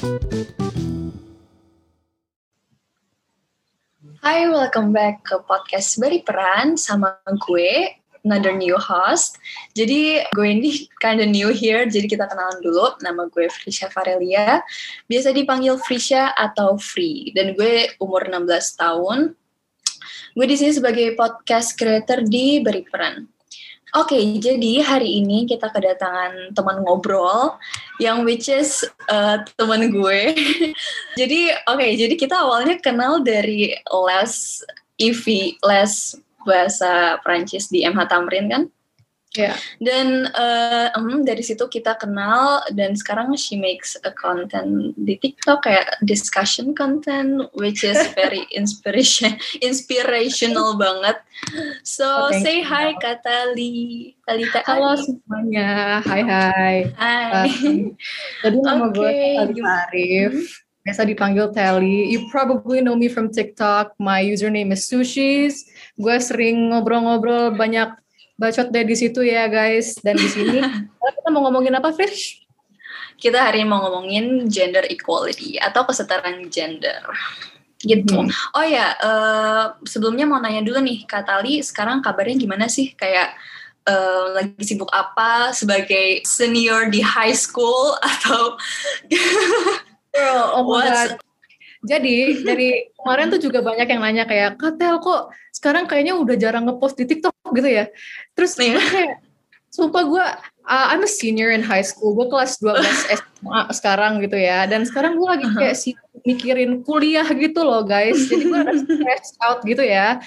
Hai, welcome back ke podcast Beriperan sama gue, another new host. Jadi gue ini kinda new here, jadi kita kenalan dulu. Nama gue Frisha Farelia, biasa dipanggil Frisha atau Free. Dan gue umur 16 tahun. Gue di sini sebagai podcast creator di Beriperan. Oke, jadi hari ini kita kedatangan teman ngobrol yang which is teman gue. jadi kita awalnya kenal dari les les bahasa Perancis di MH Tamrin kan? Yeah. Dan dari situ kita kenal dan sekarang she makes a content di TikTok kayak discussion content which is very inspirational banget. So say hi Kak Tali. Talita. Halo semuanya, hai. Jadi nama gue Talita Arif, biasa dipanggil Tali. You probably know me from TikTok. My username is Sushis. Gue sering ngobrol-ngobrol banyak bacot deh di situ ya guys. Dan di sini kita mau ngomongin apa, Fish? Kita hari ini mau ngomongin gender equality atau kesetaraan gender. Gitu. Oh ya, sebelumnya mau nanya dulu nih, Kak Tali, sekarang kabarnya gimana sih? Kayak lagi sibuk apa sebagai senior di high school atau oh my God. Jadi dari kemarin tuh juga banyak yang nanya kayak, Kak Tel kok sekarang kayaknya udah jarang ngepost di TikTok gitu ya. Terus kayak, sumpah gue, I'm a senior in high school, gue kelas 12 SMA sekarang gitu ya. Dan sekarang gue lagi kayak mikirin kuliah gitu loh guys. Jadi gue ada stress out gitu ya.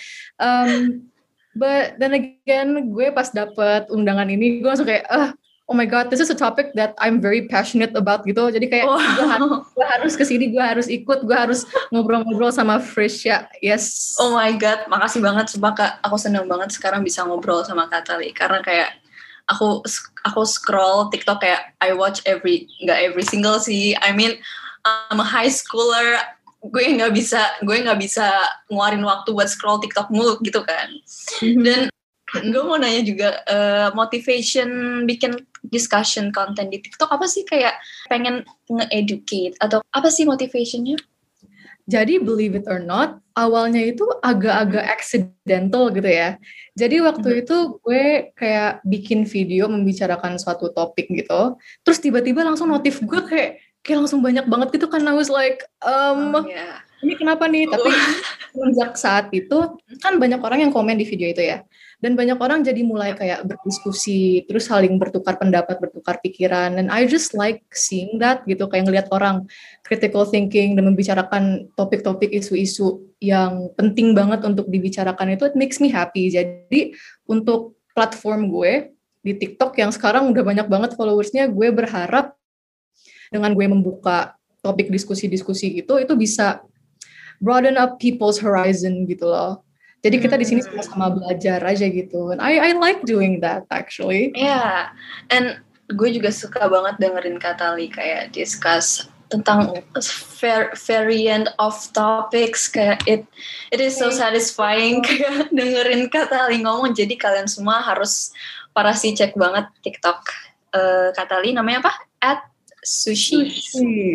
But then again, gue pas dapet undangan ini, gue langsung kayak, oh my God, this is a topic that I'm very passionate about gitu. Jadi kayak gue harus kesini, gue harus ikut, gue harus ngobrol-ngobrol sama Frisha. Yes. Oh my God, makasih banget. Sumpah Kak, aku seneng banget sekarang bisa ngobrol sama Kak Tali. Karena kayak aku scroll TikTok kayak I watch nggak every single sih. I mean, I'm a high schooler. Gue nggak bisa ngeluarin waktu buat scroll TikTok mulu gitu kan. Dan gue mau nanya juga, motivation bikin discussion content di TikTok apa sih? Kayak pengen nge-educate atau apa sih motivationnya? Jadi believe it or not, awalnya itu agak-agak accidental gitu ya. Jadi waktu itu gue kayak bikin video membicarakan suatu topik gitu. Terus tiba-tiba langsung notif gue kayak langsung banyak banget gitu kan. I was like, ini kenapa nih? Tapi sejak saat itu kan banyak orang yang komen di video itu ya. Dan banyak orang jadi mulai kayak berdiskusi, terus saling bertukar pendapat, bertukar pikiran. And I just like seeing that gitu, kayak ngelihat orang critical thinking dan membicarakan topik-topik isu-isu yang penting banget untuk dibicarakan itu, it makes me happy. Jadi untuk platform gue di TikTok yang sekarang udah banyak banget followersnya, gue berharap dengan gue membuka topik diskusi-diskusi itu bisa broaden up people's horizon gitu loh. Jadi kita di sini sama-sama belajar aja gitu. And I like doing that actually. Yeah, and gue juga suka banget dengerin Kak Tali kayak discuss tentang variant of topics, kayak it is so satisfying kayak dengerin Kak Tali ngomong. Jadi kalian semua harus cek banget TikTok Kak Tali, namanya apa? @Sushis.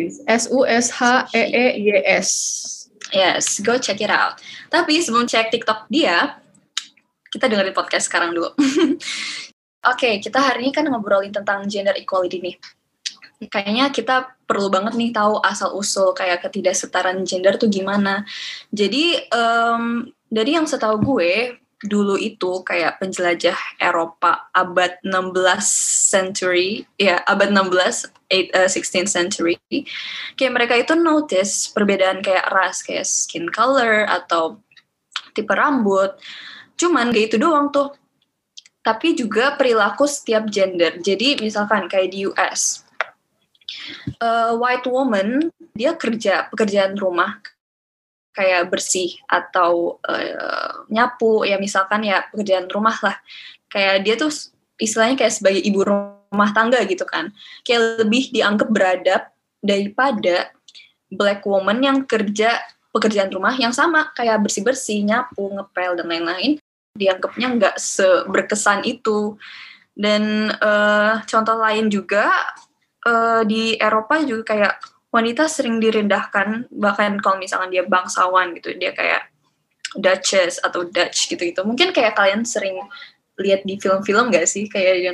SUSHEEYS. Yes, go check it out. Tapi sebelum cek TikTok dia, kita dengerin podcast sekarang dulu. Oke, kita hari ini kan ngobrolin tentang gender equality nih. Kayaknya kita perlu banget nih tahu asal-usul kayak ketidaksetaraan gender tuh gimana. Jadi, dari yang setahu gue, dulu itu kayak penjelajah Eropa abad 16th century, abad 16th century, kayak mereka itu notice perbedaan kayak ras, kayak skin color atau tipe rambut. Cuman gak itu doang tuh, tapi juga perilaku setiap gender. Jadi misalkan kayak di US, white woman dia pekerjaan rumah kayak bersih atau nyapu, ya misalkan ya pekerjaan rumah lah. Kayak dia tuh istilahnya kayak sebagai ibu rumah tangga gitu kan. Kayak lebih dianggap beradab daripada black woman yang kerja pekerjaan rumah yang sama, kayak bersih-bersih, nyapu, ngepel, dan lain-lain. Dianggapnya nggak seberkesan itu. Dan contoh lain juga, di Eropa juga kayak wanita sering direndahkan, bahkan kalau misalkan dia bangsawan gitu, dia kayak Duchess atau Dutch gitu-gitu. Mungkin kayak kalian sering lihat di film-film gak sih, kayak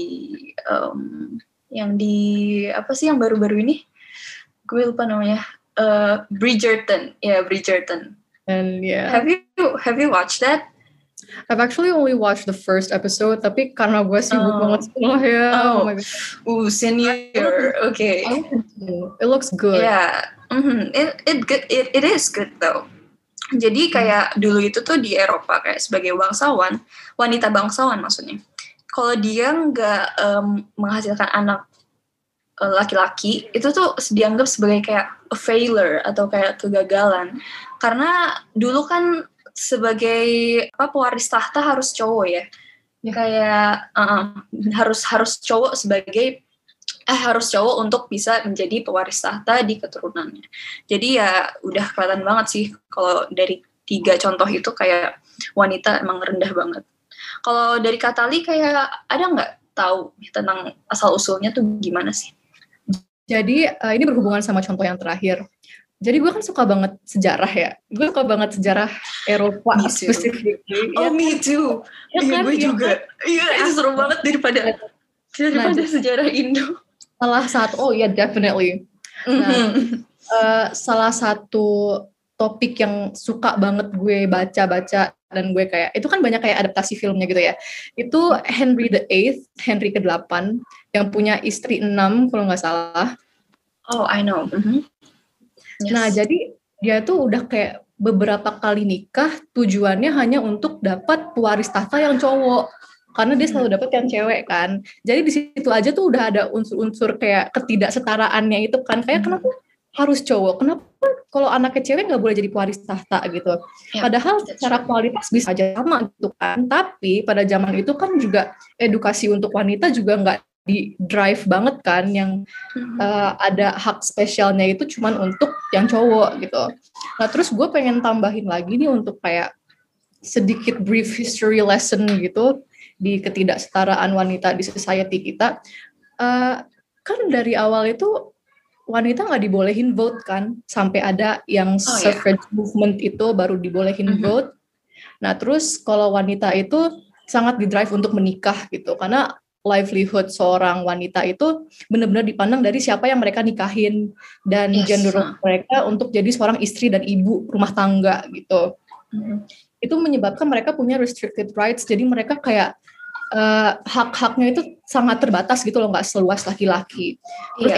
yang di apa sih yang baru-baru ini? Gue lupa namanya. Bridgerton, Bridgerton. And yeah. Have you watched that? I've actually only watched the first episode, tapi karena gue sibuk banget sekolah ya. Oh my god. Senior. Okay. It looks good. Yeah. It is good though. Jadi kayak dulu itu tuh di Eropa kayak sebagai bangsawan, wanita bangsawan maksudnya. Kalau dia nggak menghasilkan anak laki-laki, itu tuh dianggap sebagai kayak a failure atau kayak kegagalan. Karena dulu kan sebagai pewaris tahta harus cowok ya. Kayak harus cowok harus cowok untuk bisa menjadi pewaris tahta di keturunannya. Jadi ya udah kelihatan banget sih kalau dari 3 contoh itu kayak wanita emang rendah banget. Kalau dari Katali kayak ada nggak tahu tentang asal usulnya tuh gimana sih? Jadi ini berhubungan sama contoh yang terakhir. Jadi gue kan suka banget sejarah ya. Gue suka banget sejarah Eropa specifically. Oh, me too. Iya, gue juga. Iya, itu seru banget daripada sejarah Indo. Definitely. Nah, salah satu topik yang suka banget gue baca dan gue kayak, itu kan banyak kayak adaptasi filmnya gitu ya. Itu Henry ke-8 yang punya istri 6 kalau nggak salah. Oh, I know. Yes. Nah, jadi dia tuh udah kayak beberapa kali nikah, tujuannya hanya untuk dapat pewaris tahta yang cowok. Karena dia selalu dapat yang cewek kan. Jadi di situ aja tuh udah ada unsur-unsur kayak ketidaksetaraannya itu kan. Kayak kenapa harus cowok? Kenapa kalau anaknya cewek nggak boleh jadi pewaris tahta gitu? Padahal secara kualitas bisa aja sama gitu kan. Tapi pada zaman itu kan juga edukasi untuk wanita juga nggak di drive banget kan, yang ada hak spesialnya itu cuman untuk yang cowok gitu. Nah terus gue pengen tambahin lagi nih untuk kayak sedikit brief history lesson gitu di ketidaksetaraan wanita di society kita. Kan dari awal itu wanita nggak dibolehin vote kan, sampai ada yang suffrage movement itu baru dibolehin vote. Nah terus kalau wanita itu sangat di-drive untuk menikah gitu, karena livelihood seorang wanita itu benar-benar dipandang dari siapa yang mereka nikahin dan gender mereka untuk jadi seorang istri dan ibu rumah tangga gitu. Itu menyebabkan mereka punya restricted rights, jadi mereka kayak hak-haknya itu sangat terbatas gitu loh, nggak seluas laki-laki. Terus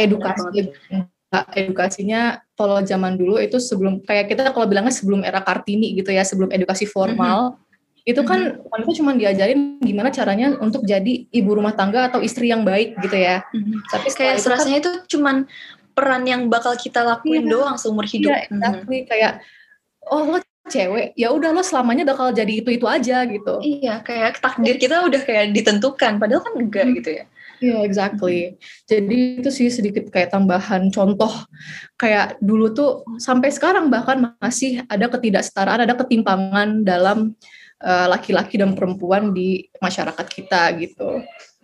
edukasinya kalau zaman dulu itu sebelum, kayak kita kalau bilangnya sebelum era Kartini gitu ya, sebelum edukasi formal, itu kan wanita cuma diajarin gimana caranya untuk jadi ibu rumah tangga atau istri yang baik gitu ya. Tapi kayak serasanya itu cuman peran yang bakal kita lakuin doang seumur hidup. Iya, exactly. Kayak lo cewek, ya udah lo selamanya bakal jadi itu aja gitu. Iya, kayak takdir kita udah kayak ditentukan, padahal kan enggak gitu ya. Iya, exactly. Jadi itu sih sedikit kayak tambahan contoh. Kayak dulu tuh sampai sekarang bahkan masih ada ketidaksetaraan, ada ketimpangan dalam laki-laki dan perempuan di masyarakat kita gitu.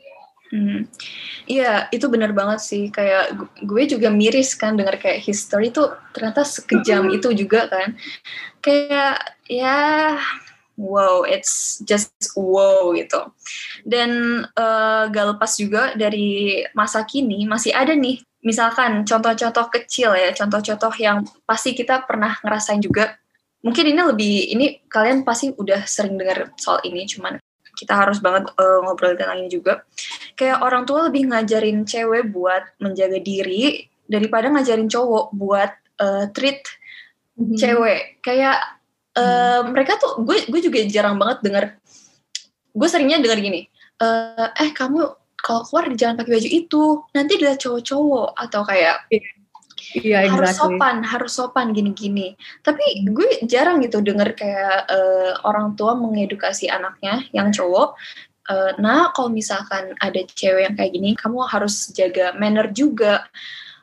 Iya, itu benar banget sih. Kayak gue juga miris kan dengar kayak history tuh ternyata sekejam itu juga kan. Kayak wow, it's just wow gitu. Dan gak lepas juga dari masa kini masih ada nih, misalkan contoh-contoh kecil ya, contoh-contoh yang pasti kita pernah ngerasain juga. Mungkin ini kalian pasti udah sering dengar soal ini, cuman kita harus banget ngobrol tentang ini juga. Kayak orang tua lebih ngajarin cewek buat menjaga diri daripada ngajarin cowok buat treat cewek. Kayak mereka tuh, gue juga jarang banget dengar. Gue seringnya dengar gini, kamu kalau keluar jangan pakai baju itu, nanti dilihat cowok-cowok, atau kayak harus sopan gini-gini. Tapi gue jarang gitu denger kayak orang tua mengedukasi anaknya yang cowok. Nah, kalau misalkan ada cewek yang kayak gini, kamu harus jaga manner juga.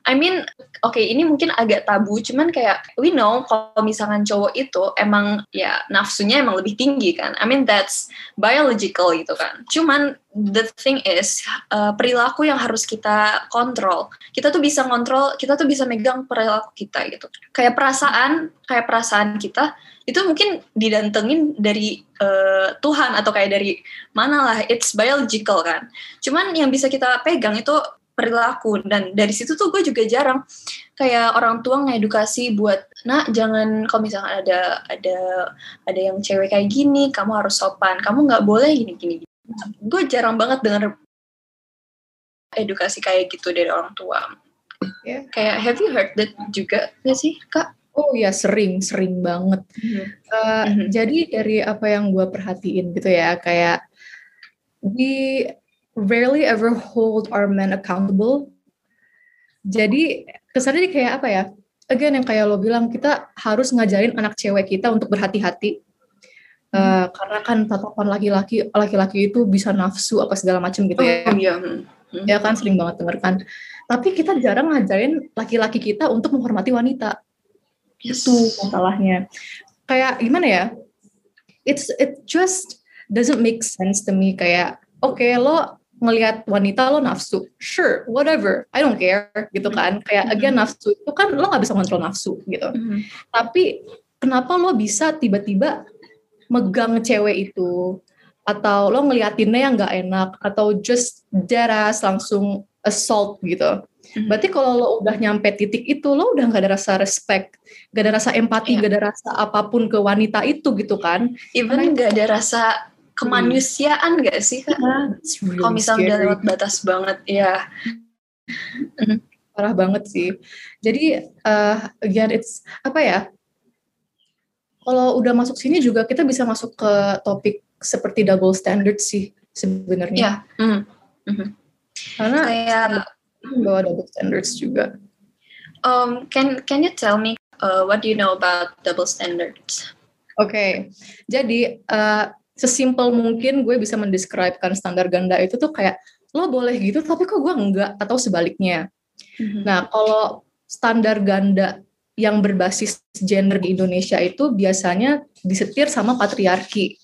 I mean, oke, ini mungkin agak tabu, cuman kayak we know kalau misalkan cowok itu emang ya nafsunya emang lebih tinggi kan. I mean that's biological gitu kan. Cuman the thing is perilaku yang harus kita kontrol. Kita tuh bisa kontrol, kita tuh bisa megang perilaku kita gitu. Kayak perasaan kita itu mungkin didantengin dari Tuhan atau kayak dari mana lah, it's biological kan. Cuman yang bisa kita pegang itu perilaku, dan dari situ tuh gue juga jarang kayak orang tua ngedukasi buat jangan, kalau misalkan ada yang cewek kayak gini kamu harus sopan, kamu nggak boleh gini. Gue jarang banget dengar edukasi kayak gitu dari orang tua. Kayak have you heard that juga nggak sih Kak? Oh ya, sering banget. Jadi dari apa yang gue perhatiin gitu ya, kayak we rarely ever hold our men accountable. Jadi kesannya kayak apa ya? Again yang kayak lo bilang, kita harus ngajarin anak cewek kita untuk berhati-hati. Karena kan tatapan laki-laki itu bisa nafsu apa segala macam gitu ya. Ya kan, sering banget denger kan. Tapi kita jarang ngajarin laki-laki kita untuk menghormati wanita. Itu masalahnya. Kayak gimana ya? It just doesn't make sense to me. Kayak oke, lo ngelihat wanita lo nafsu, sure, whatever, I don't care gitu kan. Kayak again nafsu itu kan lo nggak bisa kontrol nafsu gitu. Tapi kenapa lo bisa tiba-tiba megang cewek itu, atau lo ngeliatinnya yang nggak enak, atau just deadass langsung assault gitu. Berarti kalau lo udah nyampe titik itu, lo udah nggak ada rasa respect, nggak ada rasa empati, nggak ada rasa apapun ke wanita itu gitu kan. Even nggak ada rasa kemanusiaan gak sih Kak? Really kalau misalnya udah lewat batas banget, ya. Parah banget sih. Jadi again it's apa ya? Kalau udah masuk sini juga kita bisa masuk ke topik seperti double standard sih sebenarnya. Karena kayak bawa double standards juga. Can you tell me what do you know about double standards? Oke. Jadi sesimpel mungkin gue bisa mendeskripsikan standar ganda itu tuh kayak lo boleh gitu tapi kok gue enggak, atau sebaliknya. Nah kalau standar ganda yang berbasis gender di Indonesia itu biasanya disetir sama patriarki.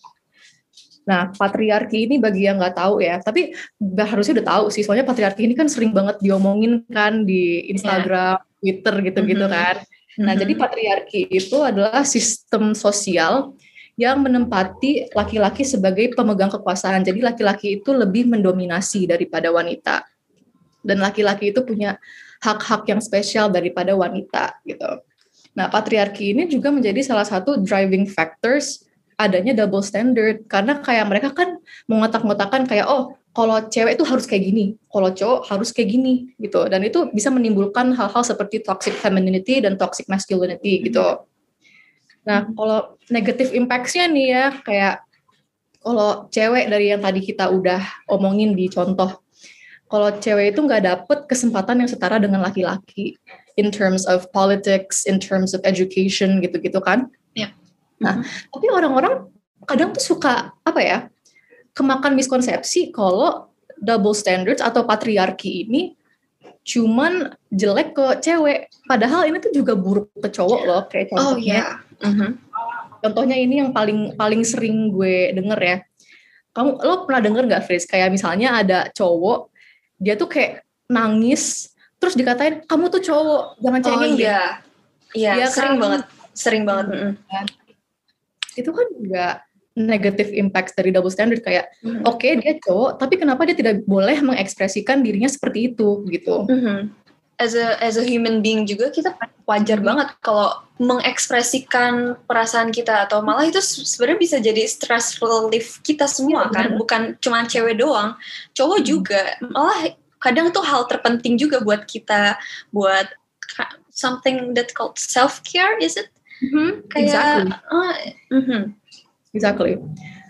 Nah patriarki ini bagi yang nggak tahu ya, tapi harusnya udah tahu sih, soalnya patriarki ini kan sering banget diomongin kan di Instagram, Twitter gitu-gitu kan. Nah jadi patriarki itu adalah sistem sosial yang menempati laki-laki sebagai pemegang kekuasaan. Jadi laki-laki itu lebih mendominasi daripada wanita. Dan laki-laki itu punya hak-hak yang spesial daripada wanita gitu. Nah, patriarki ini juga menjadi salah satu driving factors adanya double standard, karena kayak mereka kan mengotak-ngotakan kayak kalau cewek itu harus kayak gini, kalau cowok harus kayak gini gitu. Dan itu bisa menimbulkan hal-hal seperti toxic femininity dan toxic masculinity gitu. Nah, kalau negative impact-nya nih ya, kayak kalau cewek dari yang tadi kita udah omongin di contoh, kalau cewek itu nggak dapet kesempatan yang setara dengan laki-laki in terms of politics, in terms of education gitu-gitu kan. Nah, tapi orang-orang kadang tuh suka kemakan miskonsepsi kalau double standards atau patriarki ini cuman jelek ke cewek, padahal ini tuh juga buruk ke cowok loh. Kayak contohnya, contohnya ini yang paling sering gue denger ya. Lo pernah denger nggak, Fris? Kayak misalnya ada cowok, dia tuh kayak nangis, terus dikatain kamu tuh cowok, jangan cengeng deh. Iya, sering banget. Itu kan juga negative impact dari double standard, kayak oke, dia cowok, tapi kenapa dia tidak boleh mengekspresikan dirinya seperti itu gitu. As a human being juga kita wajar banget kalau mengekspresikan perasaan kita, atau malah itu sebenarnya bisa jadi stress relief kita semua kan, bukan cuma cewek doang, cowok juga. Malah kadang tuh hal terpenting juga buat kita, buat something that called self care, is it? Kayak exactly.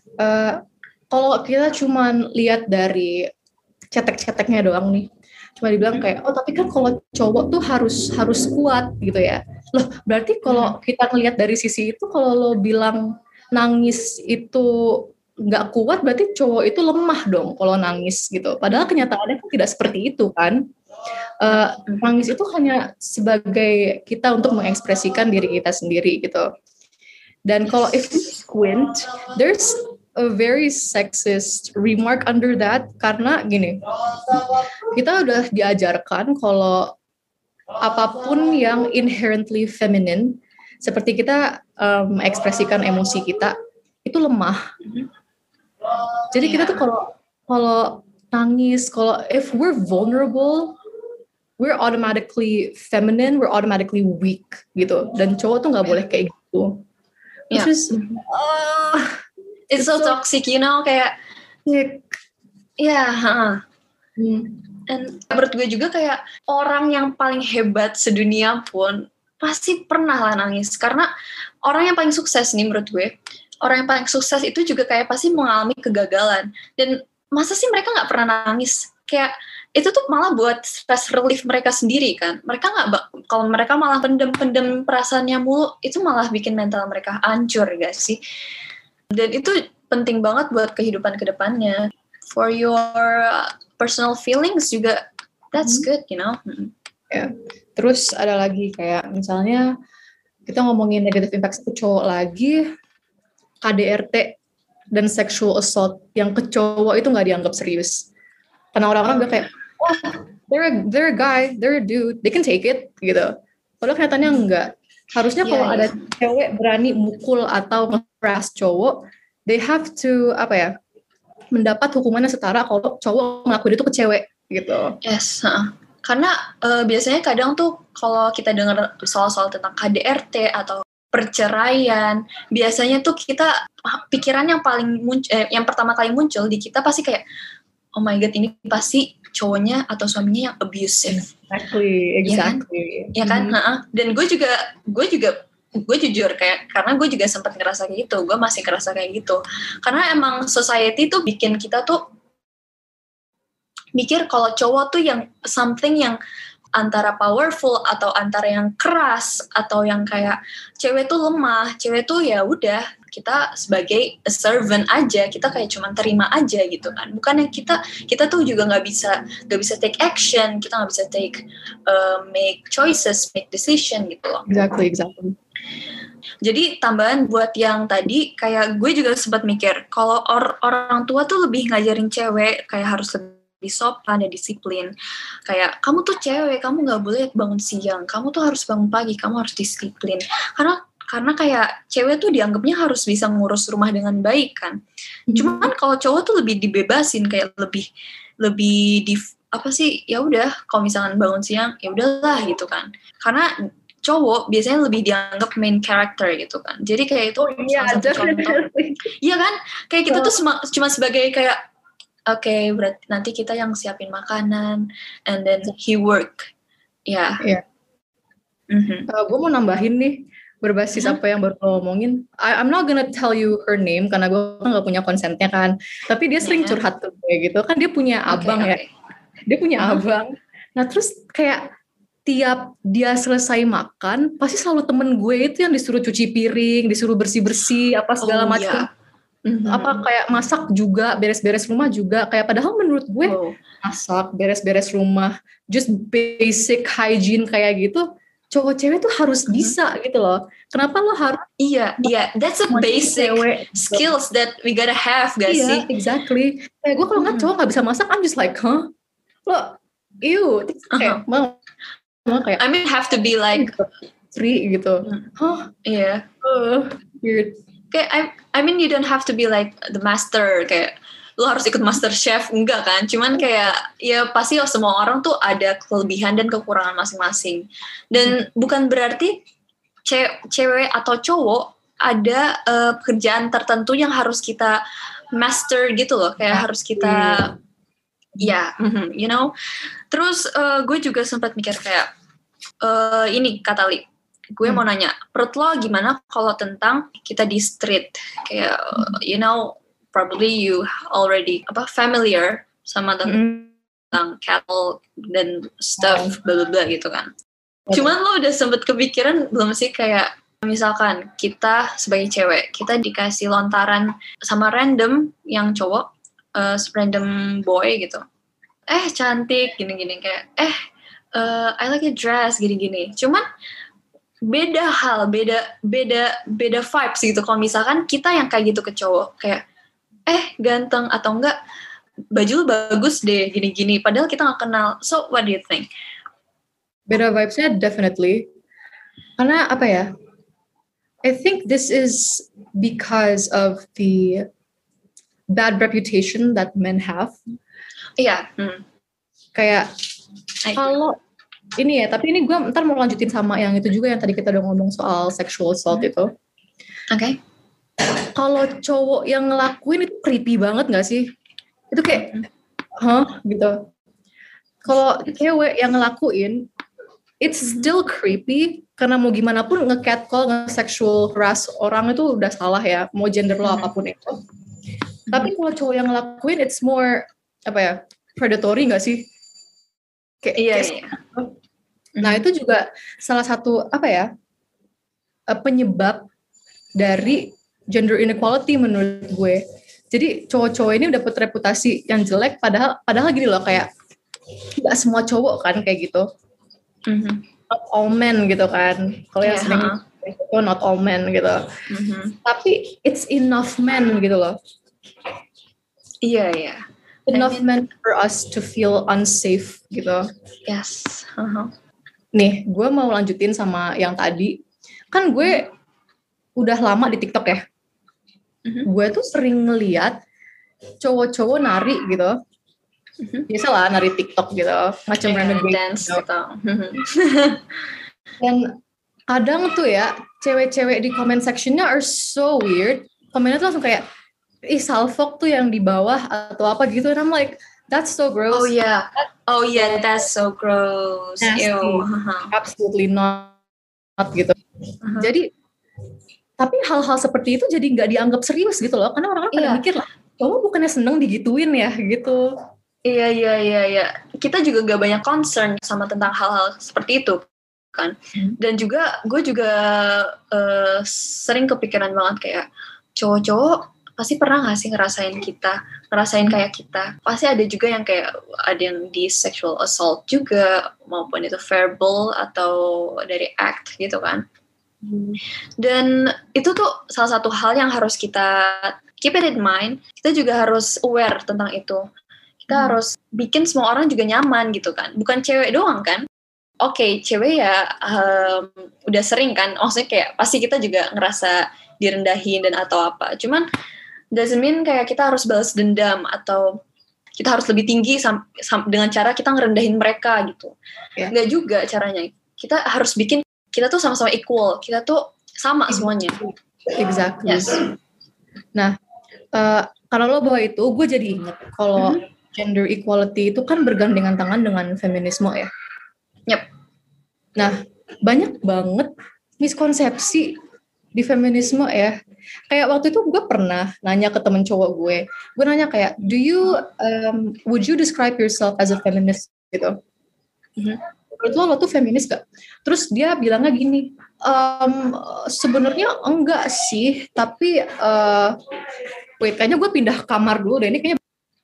Kalau kita cuman lihat dari cetek-ceteknya doang nih, cuma dibilang kayak tapi kan kalau cowok tuh harus kuat gitu ya. Loh, berarti kalau kita ngelihat dari sisi itu, kalau lo bilang nangis itu nggak kuat, berarti cowok itu lemah dong kalau nangis gitu. Padahal kenyataannya kan tidak seperti itu kan. Nangis itu hanya sebagai kita untuk mengekspresikan diri kita sendiri gitu. Dan kalau if we squint, there's a very sexist remark under that, karena gini, kita udah diajarkan kalau apapun yang inherently feminine, seperti kita ekspresikan emosi kita, itu lemah. Jadi kita tuh kalau nangis, kalau if we're vulnerable, we're automatically feminine, we're automatically weak gitu. Dan cowok tuh nggak boleh kayak gitu. It's so toxic, you know, kayak Dan menurut gue juga kayak orang yang paling hebat sedunia pun pasti pernah lah nangis. Karena orang yang paling sukses nih menurut gue, orang yang paling sukses itu juga kayak pasti mengalami kegagalan. Dan masa sih mereka gak pernah nangis? Kayak itu tuh malah buat stress relief mereka sendiri kan. Mereka kalau mereka malah pendem perasaannya mulu, itu malah bikin mental mereka hancur gak sih? Dan itu penting banget buat kehidupan kedepannya. For your personal feelings juga, that's good, you know. Ya. Terus ada lagi kayak misalnya kita ngomongin negative impact ke cowok lagi, KDRT dan sexual assault yang ke cowok itu nggak dianggap serius. Karena orang-orang bilang kayak, oh, they're a guy, they're a dude, they can take it gitu. Padahal kenyataannya enggak. Harusnya kalau ada cewek berani mukul atau nge-harass cowok, they have to mendapat hukumannya setara kalau cowok ngelakuin itu ke cewek gitu. Yes, karena biasanya kadang tuh kalau kita dengar soal-soal tentang KDRT atau perceraian, biasanya tuh kita pikiran yang paling yang pertama kali muncul di kita pasti kayak, oh my god, ini pasti cowoknya atau suaminya yang abusive. Exactly. Ya kan? Dan gue jujur kayak, karena gue juga sempat ngerasa kayak gitu, gue masih ngerasa kayak gitu, karena emang society tuh bikin kita tuh mikir kalau cowok tuh yang something yang antara powerful atau antara yang keras atau yang kayak cewek tuh lemah, cewek tuh ya udah kita sebagai a servant aja, kita kayak cuman terima aja gitu kan, bukan yang kita tuh juga nggak bisa take action, kita nggak bisa make choices, make decision gitu loh. Exactly. Jadi tambahan buat yang tadi, kayak gue juga sempat mikir kalau orang tua tuh lebih ngajarin cewek kayak harus lebih sopan dan disiplin. Kayak kamu tuh cewek, kamu nggak boleh bangun siang, kamu tuh harus bangun pagi, kamu harus disiplin. Karena kayak cewek tuh dianggapnya harus bisa ngurus rumah dengan baik kan. Cuman kalau cowok tuh lebih dibebasin, kayak lebih ya udah, kalau misalkan bangun siang ya udahlah gitu kan. Karena cowok biasanya lebih dianggap main character gitu kan. Jadi kayak itu salah satu contoh. Iya kan? Kayak kita tuh cuma sebagai kayak, okay, berarti nanti kita yang siapin makanan, and then he work. Ya. Yeah. Gue mau nambahin nih, berbasis apa yang baru lo ngomongin. I'm not gonna tell you her name, karena gue kan gak punya consentnya kan. Tapi dia sering curhat tuh kayak gitu. Kan dia punya abang ya. Dia punya abang. Nah terus kayak tiap dia selesai makan, pasti selalu temen gue itu yang disuruh cuci piring, disuruh bersih-bersih, apa segala macam. Apa kayak masak juga, beres-beres rumah juga. Kayak padahal menurut gue masak, beres-beres rumah, just basic hygiene kayak gitu, cowok cewek tuh harus bisa gitu loh. Kenapa lo harus? Iya, that's a basic skills that we gotta have, gak sih? Iya, exactly. Kayak gue kalau nggak cowok nggak bisa masak, I'm just like, huh? Lo, ew. Kayak, kayak, I mean have to be like free gitu. Iya. Weird. Kayak I mean you don't have to be like the master, kayak lo harus ikut master chef, enggak kan? Cuman kayak ya pasti semua orang tuh ada kelebihan dan kekurangan masing-masing. Dan bukan berarti cewek atau cowok ada pekerjaan tertentu yang harus kita master gitu loh, kayak harus kita you know. Terus gue juga sempat mikir kayak ini Kak Tali, gue mau nanya, menurut lo gimana kalau tentang kita di street, kayak you know, probably you already familiar sama tentang cattle dan stuff bla bla gitu kan. Cuman lo udah sempet kepikiran belum sih, kayak misalkan kita sebagai cewek, kita dikasih lontaran sama random yang cowok, random boy gitu, cantik gini-gini, kayak I like your dress gini-gini. Cuman beda hal, beda vibes gitu. Kalau misalkan kita yang kayak gitu ke cowok, kayak ganteng atau enggak, baju lu bagus deh gini-gini, padahal kita nggak kenal. So what do you think? Beda vibes-nya definitely. Karena apa ya? I think this is because of the bad reputation that men have. Iya. Kayak kalau ini ya, tapi ini gue ntar mau lanjutin sama yang itu juga yang tadi kita udah ngomong soal sexual assault itu. Oke. Kalau cowok yang ngelakuin itu creepy banget gak sih? Itu kayak, gitu. Kalau cewek yang ngelakuin, it's still creepy, karena mau gimana pun nge-catcall, nge-sexual harass orang itu udah salah ya, mau gender lo apapun itu. Tapi kalau cowok yang ngelakuin, it's more, predatory gak sih? Iya. Nah itu juga salah satu, penyebab dari gender inequality menurut gue. Jadi cowok-cowok ini dapat reputasi yang jelek, padahal gini loh, kayak nggak semua cowok kan kayak gitu. Not all men gitu kan. Kalau yang sering itu not all men gitu. Tapi it's enough men gitu loh. Iya. Enough men for us to feel unsafe gitu. Yes. Nih, gue mau lanjutin sama yang tadi. Kan gue udah lama di TikTok ya. Gue tuh sering ngeliat cowok-cowok nari gitu. Biasalah nari TikTok gitu, macam renegade dance gitu. Dan kadang tuh ya, cewek-cewek di comment sectionnya are so weird. Komennya tuh langsung kayak, salfok tuh yang di bawah atau apa gitu. And I'm like, that's so gross. Oh yeah, that's so gross. Ew. Absolutely not gitu. Jadi, tapi hal-hal seperti itu jadi nggak dianggap serius gitu loh. Karena orang-orang pada mikir lah, kamu bukannya seneng digituin ya gitu. Iya. Kita juga gak banyak concern sama tentang hal-hal seperti itu kan. Dan juga gue juga sering kepikiran banget kayak cowok-cowok pasti pernah gak sih ngerasain kayak kita. Pasti ada juga yang kayak ada yang di sexual assault juga, maupun itu verbal atau dari act gitu kan. Dan itu tuh salah satu hal yang harus kita keep it in mind. Kita juga harus aware tentang itu. Kita harus bikin semua orang juga nyaman gitu kan. Bukan cewek doang kan. Oke, cewek ya udah sering kan. Maksudnya kayak pasti kita juga ngerasa direndahin dan atau apa. Cuman doesn't mean kayak kita harus balas dendam atau kita harus lebih tinggi dengan cara kita ngerendahin mereka gitu. Nggak juga caranya. Kita harus bikin kita tuh sama-sama equal. Kita tuh sama semuanya. Exactly. Yes. Nah, kalau lo bawa itu, gue jadi inget kalau gender equality itu kan bergandengan tangan dengan feminisme ya. Yep. Nah, banyak banget miskonsepsi di feminisme ya. Kayak waktu itu gue pernah nanya ke temen cowok gue. Gue nanya kayak, would you describe yourself as a feminist gitu? Menurut lo tuh feminis gak? Terus dia bilangnya gini, sebenarnya enggak sih, tapi kayaknya gue pindah kamar dulu deh, ini kayaknya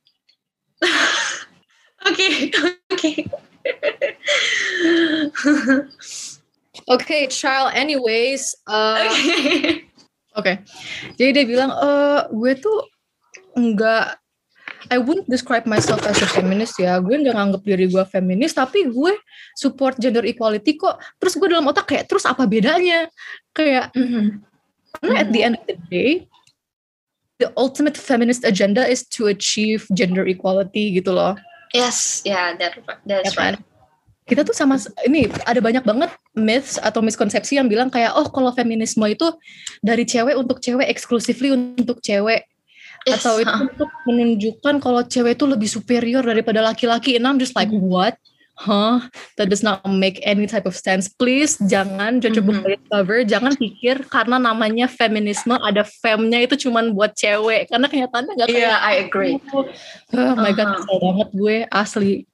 Oke, child anyways. Oke. Jadi dia bilang, gue tuh enggak, I wouldn't describe myself as a feminist ya. Gue nggak nganggap diri gue feminis, tapi gue support gender equality kok. Terus gue dalam otak kayak, terus apa bedanya? Kayak, karena at the end of the day, the ultimate feminist agenda is to achieve gender equality gitu loh. Yes, that's right. Kita tuh sama, ini ada banyak banget myths atau miskonsepsi yang bilang kayak, kalau feminisme itu dari cewek untuk cewek, exclusively untuk cewek. Yes, atau itu untuk menunjukkan kalau cewek itu lebih superior daripada laki-laki. And I'm just like, what? That does not make any type of sense. Please, jangan judge a book by its cover. Jangan pikir karena namanya feminisme, ada femnya itu cuman buat cewek. Karena kenyataannya gak kayak I agree. Oh my God, kesel banget gue, asli.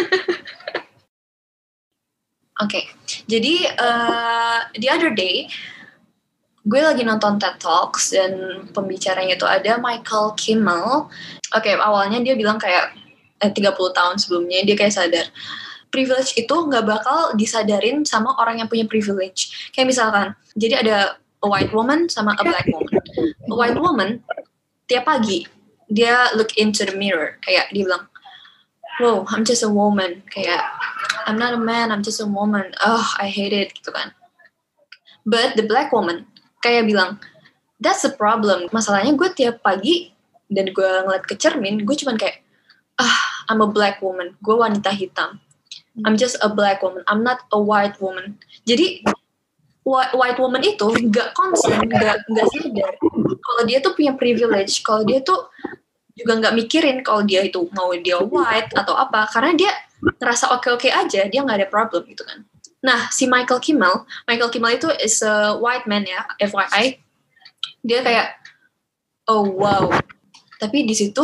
Oke, jadi the other day gue lagi nonton TED Talks dan pembicaranya itu ada Michael Kimmel. Oke, awalnya dia bilang kayak 30 tahun sebelumnya dia kayak sadar privilege itu nggak bakal disadarin sama orang yang punya privilege. Kayak misalkan, jadi ada a white woman sama a black woman. A white woman tiap pagi dia look into the mirror, kayak dia bilang, "Wow, I'm just a woman." Kayak, "I'm not a man, I'm just a woman. Oh, I hate it," gitu kan. But the black woman kayak bilang, "That's the problem. Masalahnya gue tiap pagi dan gue ngeliat ke cermin, gue cuman kayak, I'm a black woman. Gue wanita hitam. I'm just a black woman. I'm not a white woman." Jadi white woman itu nggak concern, nggak sadar kalau dia tuh punya privilege, kalau dia tuh juga nggak mikirin kalau dia itu mau dia white atau apa, karena dia ngerasa oke-oke aja, dia nggak ada problem gitu kan. Nah, si Michael Kimmel itu is a white man ya, FYI. Dia kayak, oh wow. Tapi di situ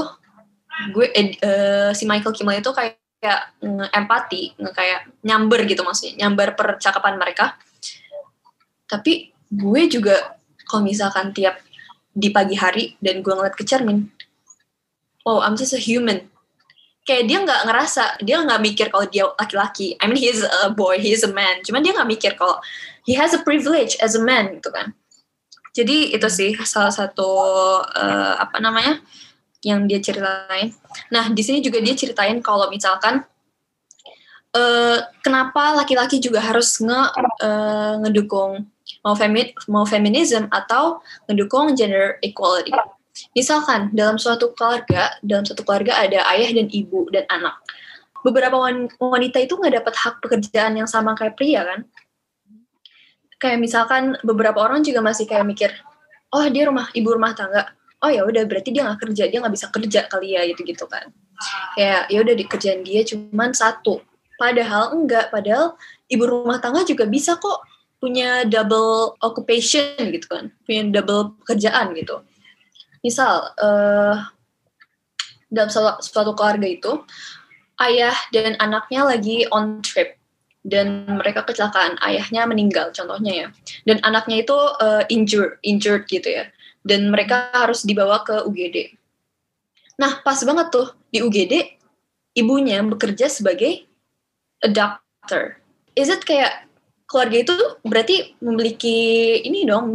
si Michael Kimmel itu kayak empati, kayak nyamber gitu maksudnya, nyamber percakapan mereka. Tapi gue juga kalau misalkan tiap di pagi hari dan gue ngeliat ke cermin, oh I'm just a human. Kayak dia nggak ngerasa, dia nggak mikir kalau dia laki-laki. I mean he's a boy, he's a man. Cuman dia nggak mikir kalau he has a privilege as a man gitu kan. Jadi itu sih salah satu yang dia ceritain. Nah di sini juga dia ceritain kalau misalkan kenapa laki-laki juga harus ngedukung mau feminism atau ngedukung gender equality. Misalkan dalam suatu keluarga ada ayah dan ibu dan anak. Beberapa wanita itu nggak dapat hak pekerjaan yang sama kayak pria kan. Kayak misalkan beberapa orang juga masih kayak mikir, oh dia ibu rumah tangga. Oh ya udah berarti dia nggak kerja, dia nggak bisa kerja kali ya gitu kan. Kayak ya udah dikerjaan dia cuman satu. Padahal ibu rumah tangga juga bisa kok punya double occupation gitu kan, punya double pekerjaan gitu. Misal dalam suatu keluarga itu ayah dan anaknya lagi on trip dan mereka kecelakaan, ayahnya meninggal contohnya ya, dan anaknya itu injured gitu ya, dan mereka harus dibawa ke UGD. Nah pas banget tuh di UGD ibunya bekerja sebagai a doctor. Is it kayak keluarga itu berarti memiliki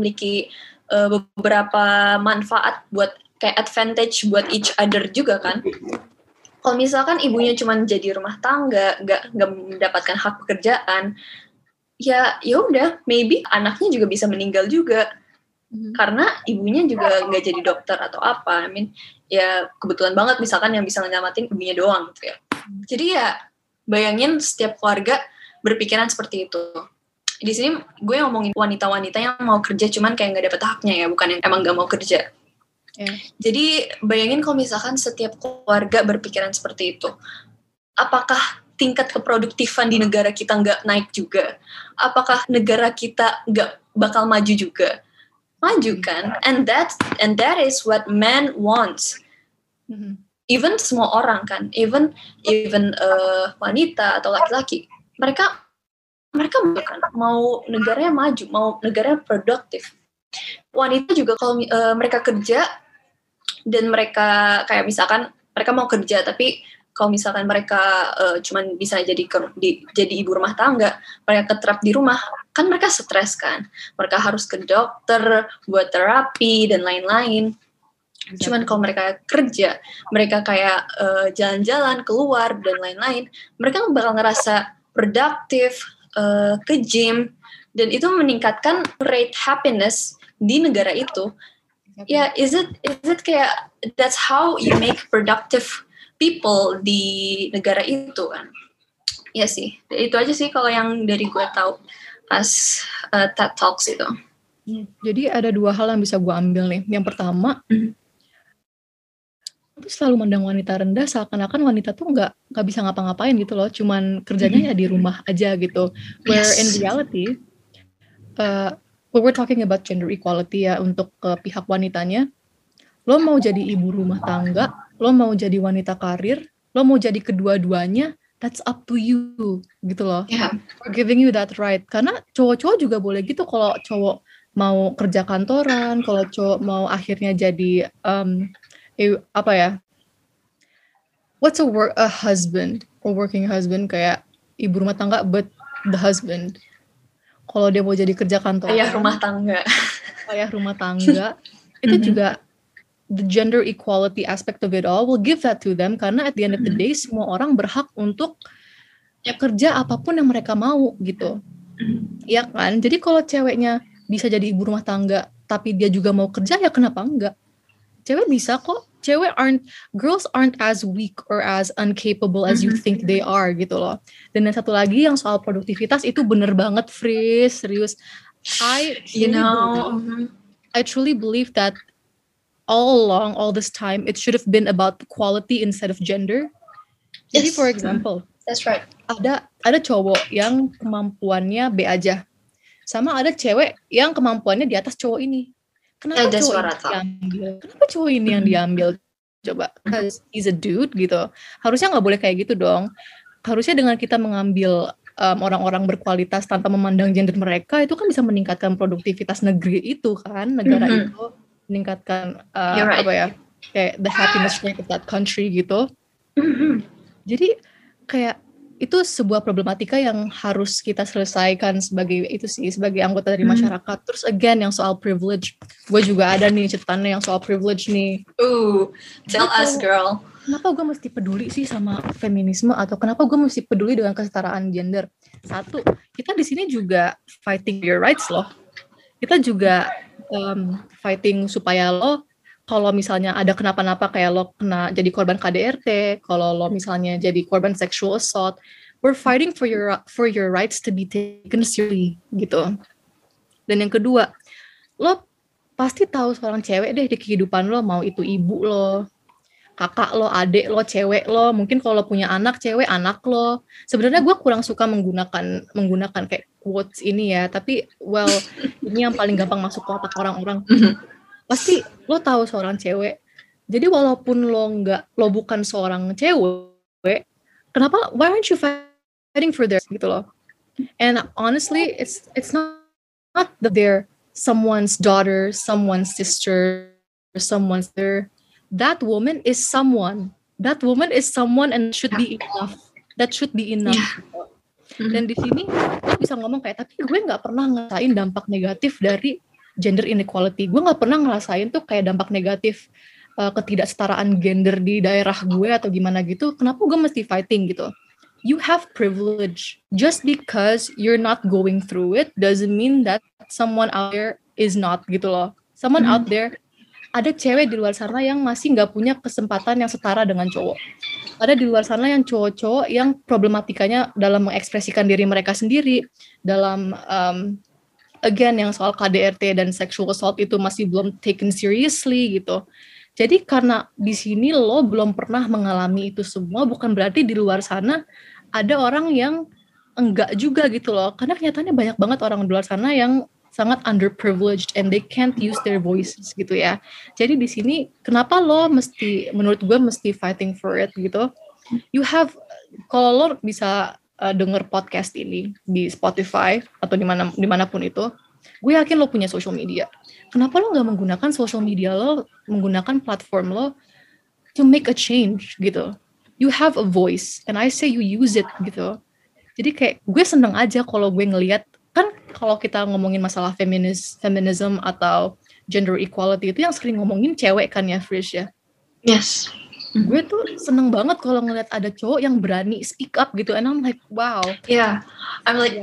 beberapa manfaat buat kayak advantage buat each other juga kan. Kalau misalkan ibunya cuma jadi rumah tangga, nggak mendapatkan hak pekerjaan, ya udah, maybe anaknya juga bisa meninggal juga karena ibunya juga nggak jadi dokter atau apa. I mean, ya kebetulan banget misalkan yang bisa nyelamatin ibunya doang gitu ya. Jadi ya bayangin setiap keluarga berpikiran seperti itu. Di sini gue ngomongin wanita-wanita yang mau kerja cuman kayak nggak dapet haknya ya, bukan yang emang nggak mau kerja. Yeah. Jadi bayangin kalau misalkan setiap keluarga berpikiran seperti itu, apakah tingkat keproduktifan di negara kita nggak naik juga? Apakah negara kita nggak bakal maju juga? Maju kan? And that is what man wants. Even semua orang kan, even wanita atau laki-laki, mereka kan mau negaranya maju, mau negaranya produktif. Wanita juga kalau mereka kerja dan mereka kayak misalkan mereka mau kerja tapi kalau misalkan mereka cuman bisa jadi ibu rumah tangga, mereka ketrap di rumah, kan mereka stres kan. Mereka harus ke dokter buat terapi dan lain-lain. Cuman kalau mereka kerja, mereka kayak jalan-jalan, keluar dan lain-lain, mereka bakal ngerasa produktif, ke gym, dan itu meningkatkan rate happiness di negara itu. Ya, is it kayak that's how you make productive people di negara itu kan? Ya sih, itu aja sih kalau yang dari gue tahu pas TED Talks itu. Jadi ada dua hal yang bisa gue ambil nih. Yang pertama, itu selalu mandang wanita rendah seakan-akan wanita tuh nggak bisa ngapa-ngapain gitu loh, cuman kerjanya ya di rumah aja gitu. Where in reality, when we're talking about gender equality ya untuk pihak wanitanya, lo mau jadi ibu rumah tangga, lo mau jadi wanita karir, lo mau jadi kedua-duanya, that's up to you gitu loh. Yeah. We're giving you that right. Karena cowok-cowok juga boleh gitu, kalau cowok mau kerja kantoran, kalau cowok mau akhirnya jadi what's a husband or working husband, kayak ibu rumah tangga but the husband. Kalau dia mau jadi kerja kantoran, ayah rumah tangga. Itu juga the gender equality aspect of it all, we'll give that to them, karena at the end of the day semua orang berhak untuk kerja apapun yang mereka mau gitu. Iya kan? Jadi kalau ceweknya bisa jadi ibu rumah tangga tapi dia juga mau kerja, ya kenapa enggak? Cewek bisa kok. Girls aren't as weak or as incapable as you think they are gitu loh. Dan yang satu lagi yang soal produktivitas itu bener banget, Fris, serius. I truly believe that all along, all this time, it should have been about quality instead of gender. Jadi for example, that's right. Ada cowok yang kemampuannya B aja, sama ada cewek yang kemampuannya di atas cowok ini. Kenapa cowok ini yang diambil? Coba, because he's a dude gitu. Harusnya nggak boleh kayak gitu dong. Harusnya dengan kita mengambil orang-orang berkualitas tanpa memandang gender mereka, itu kan bisa meningkatkan produktivitas negeri itu kan, negara itu, meningkatkan kayak the happiness rate of that country gitu. Jadi kayak itu sebuah problematika yang harus kita selesaikan sebagai anggota dari masyarakat. Terus again yang soal privilege, gue juga ada nih catatannya yang soal privilege nih. Tell us girl. Kenapa gue mesti peduli sih sama feminisme, atau kenapa gue mesti peduli dengan kesetaraan gender? Satu, kita di sini juga fighting your rights loh. Kita juga fighting supaya lo, kalau misalnya ada kenapa-napa kayak lo kena jadi korban KDRT, kalau lo misalnya jadi korban sexual assault, we're fighting for your rights to be taken seriously gitu. Dan yang kedua, lo pasti tahu seorang cewek deh di kehidupan lo, mau itu ibu lo, kakak lo, adik lo, cewek lo, mungkin kalau lo punya anak cewek, anak lo. Sebenarnya gue kurang suka menggunakan kayak quotes ini ya, tapi ini yang paling gampang masuk ke otak orang-orang. Pasti lo tahu seorang cewek. Jadi walaupun lo bukan seorang cewek, kenapa? Why aren't you fighting for this gitu loh? And honestly, it's not that they're someone's daughter, someone's sister, someone's mother. That woman is someone. That woman is someone and should be enough. That should be enough. Yeah. Dan di sini lo bisa ngomong kayak, tapi gue nggak pernah ngerasain dampak negatif dari gender inequality. Gue gak pernah ngerasain tuh kayak dampak negatif ketidaksetaraan gender di daerah gue atau gimana gitu. Kenapa gue mesti fighting gitu? You have privilege. Just because you're not going through it doesn't mean that someone out there is not gitu loh. Someone out there, ada cewek di luar sana yang masih gak punya kesempatan yang setara dengan cowok. Ada di luar sana yang cowok-cowok yang problematikanya dalam mengekspresikan diri mereka sendiri, dalam again yang soal KDRT dan sexual assault itu masih belum taken seriously gitu. Jadi karena di sini lo belum pernah mengalami itu semua, bukan berarti di luar sana ada orang yang enggak juga gitu loh. Karena kenyataannya banyak banget orang di luar sana yang sangat underprivileged and they can't use their voices gitu ya. Jadi di sini kenapa lo menurut gue mesti fighting for it gitu. You have, kalau lo bisa denger podcast ini di Spotify atau dimanapun itu, gue yakin lo punya social media. Kenapa lo nggak menggunakan social media lo, menggunakan platform lo to make a change gitu? You have a voice, and I say you use it gitu. Jadi kayak gue seneng aja kalau gue ngelihat, kan kalau kita ngomongin masalah feminism atau gender equality itu yang sering ngomongin cewek kan ya, Frisch ya? Yes. Gue tuh seneng banget kalau ngeliat ada cowok yang berani speak up gitu, and I'm like, wow. Yeah, I'm like,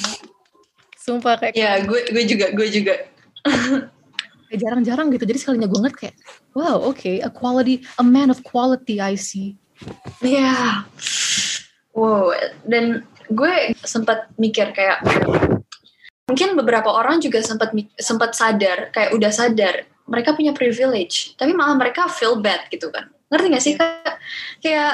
sumpah kayak. Yeah, gue juga. Jarang-jarang gitu, jadi sekalinya gue ngeliat kayak, wow, okay, a man of quality I see. Yeah, wow. Dan gue sempat mikir kayak, mungkin beberapa orang juga sempat sadar, kayak udah sadar mereka punya privilege, tapi malah mereka feel bad gitu kan. Ngerti gak sih? Kayak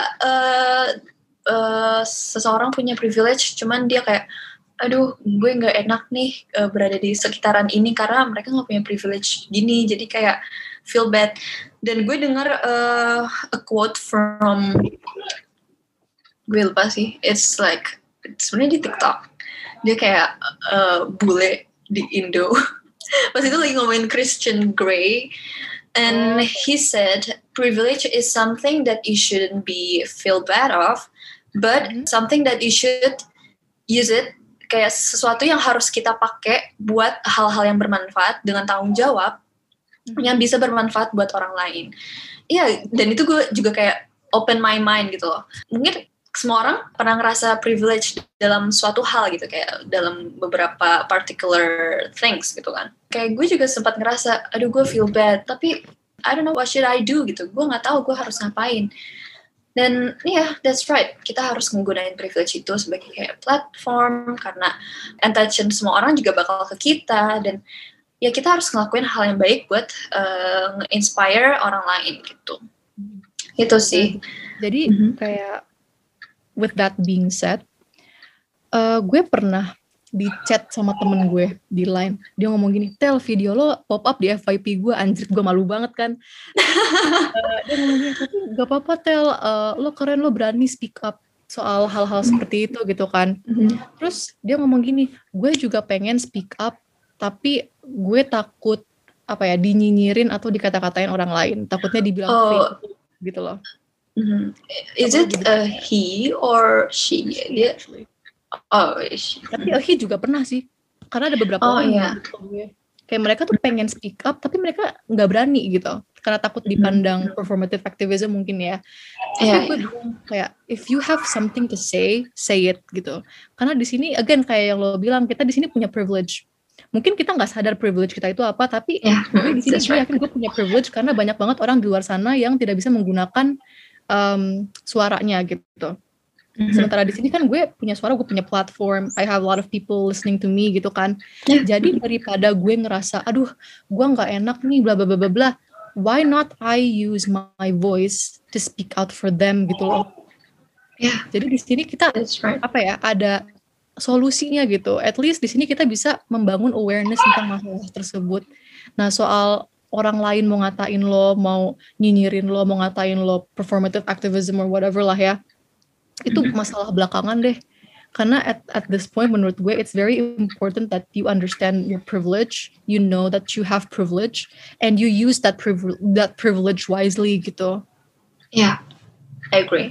seseorang punya privilege, cuman dia kayak, aduh gue gak enak nih berada di sekitaran ini karena mereka gak punya privilege gini, jadi kayak feel bad. Dan gue dengar a quote from, gue lupa sih, it's sebenarnya di TikTok, dia kayak bule di Indo. Pas itu lagi ngomongin Christian Grey, And he said, privilege is something that you shouldn't be feel bad of, but something that you should use it, kayak sesuatu yang harus kita pakai buat hal-hal yang bermanfaat dengan tanggung jawab, yang bisa bermanfaat buat orang lain. Iya, dan itu gue juga kayak open my mind gitu loh. Mungkin semua orang pernah ngerasa privilege dalam suatu hal gitu, kayak dalam beberapa particular things gitu kan. Kayak gue juga sempat ngerasa, aduh gue feel bad, tapi I don't know what should I do gitu. Gue nggak tahu gue harus ngapain. Dan that's right. Kita harus menggunakan privilege itu sebagai kayak platform, karena attention semua orang juga bakal ke kita, dan ya kita harus ngelakuin hal yang baik buat nge-inspire orang lain gitu. Itu sih. Jadi kayak with that being said, gue pernah di chat sama temen gue di line. Dia ngomong gini, Tel, video lo pop up di FYP gue, anjir gue malu banget kan. Dia ngomong gini, tapi gak apa-apa Tel, lo keren, lo berani speak up soal hal-hal seperti itu gitu kan. Terus dia ngomong gini, gue juga pengen speak up, tapi gue takut dinyinyirin atau dikata-katain orang lain. Takutnya dibilang fake gitu loh. Is it a he or she? Dia Tapi he juga pernah sih, karena ada beberapa orang gue kayak mereka tuh pengen speak up tapi mereka nggak berani gitu karena takut dipandang performative activism mungkin ya. Tapi gue bilang kayak if you have something to say it gitu, karena di sini again kayak yang lo bilang, kita di sini punya privilege. Mungkin kita nggak sadar privilege kita itu apa, tapi gue di sini gue yakin gue punya privilege karena banyak banget orang di luar sana yang tidak bisa menggunakan suaranya gitu. Sementara di sini kan gue punya suara, gue punya platform, I have a lot of people listening to me gitu kan. Jadi daripada gue ngerasa, aduh, gue nggak enak nih, bla bla bla bla bla, why not I use my voice to speak out for them gitu loh. Jadi di sini kita ada solusinya gitu. At least di sini kita bisa membangun awareness tentang masalah tersebut. Nah soal orang lain mau ngatain lo, mau nyinyirin lo, mau ngatain lo performative activism or whatever lah ya, itu masalah belakangan deh. Karena at this point menurut gue it's very important that you understand your privilege, you know that you have privilege, and you use that privilege wisely gitu. I agree.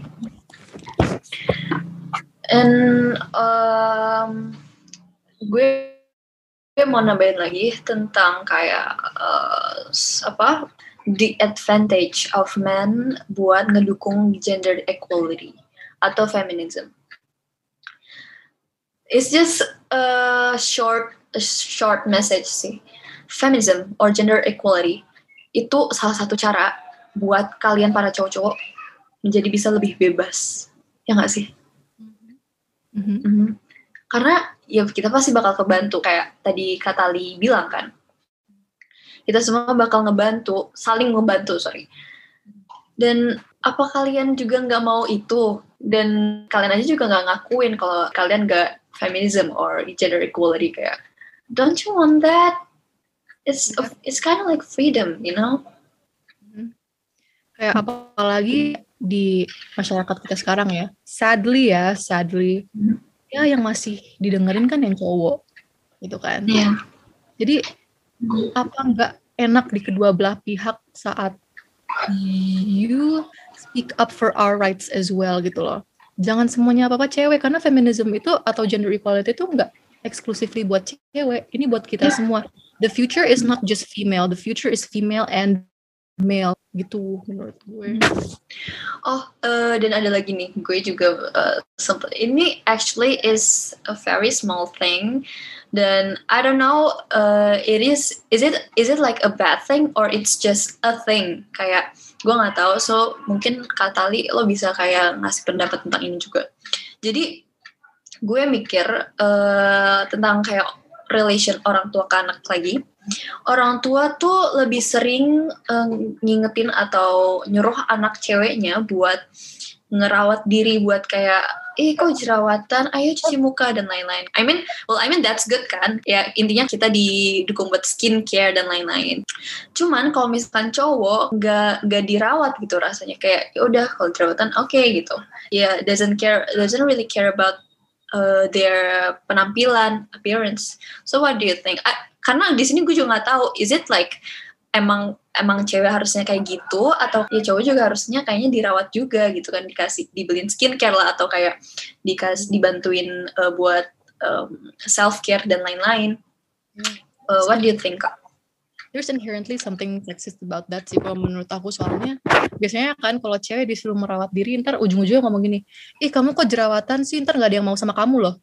And gue mau nambahin lagi tentang kayak the advantage of men buat ngedukung gender equality atau feminism. It's just a short message sih. Feminism or gender equality itu salah satu cara buat kalian para cowok-cowok menjadi bisa lebih bebas. Ya nggak sih? Karena ya kita pasti bakal kebantu, kayak tadi Katali bilang kan. Kita semua bakal saling membantu. Dan apa kalian juga nggak mau itu? Dan kalian aja juga nggak ngakuin kalau kalian nggak feminism or gender equality, kayak don't you want that? It's kind of like freedom, you know? Kayak apalagi di masyarakat kita sekarang ya, sadly ya yang masih didengerin kan yang cowok gitu kan. Jadi apa nggak enak di kedua belah pihak saat you speak up for our rights as well gitu loh. Jangan semuanya apa-apa cewek, karena feminism itu atau gender equality itu nggak exclusively buat cewek, ini buat kita semua. The future is not just female, the future is female and male gitu menurut gue. Dan ada lagi nih, gue juga sempat, ini actually is a very small thing, dan I don't know is it like a bad thing or it's just a thing, kayak gue nggak tahu. So mungkin Katali lo bisa kayak ngasih pendapat tentang ini juga. Jadi gue mikir tentang kayak relation orang tua ke anak lagi. Orang tua tuh lebih sering ngingetin atau nyuruh anak ceweknya buat ngerawat diri, buat kayak kok jerawatan, ayo cuci muka dan lain-lain. I mean that's good kan, ya intinya kita didukung buat skincare dan lain-lain. Cuman kalau misalkan cowok nggak dirawat gitu, rasanya kayak ya udah kalau jerawatan oke gitu, ya doesn't really care about their penampilan, appearance. So what do you think? Karena di sini gue juga nggak tahu, is it like emang emang cewek harusnya kayak gitu, atau ya cowok juga harusnya kayaknya dirawat juga gitu kan, dibeliin skincare lah, atau kayak dibantuin buat self care dan lain-lain. What do you think, Kak? There's inherently something sexist about that sih kalau menurut aku, soalnya biasanya kan kalau cewek disuruh merawat diri, ntar ujung-ujungnya ngomong gini, kamu kok jerawatan sih, ntar gak ada yang mau sama kamu loh.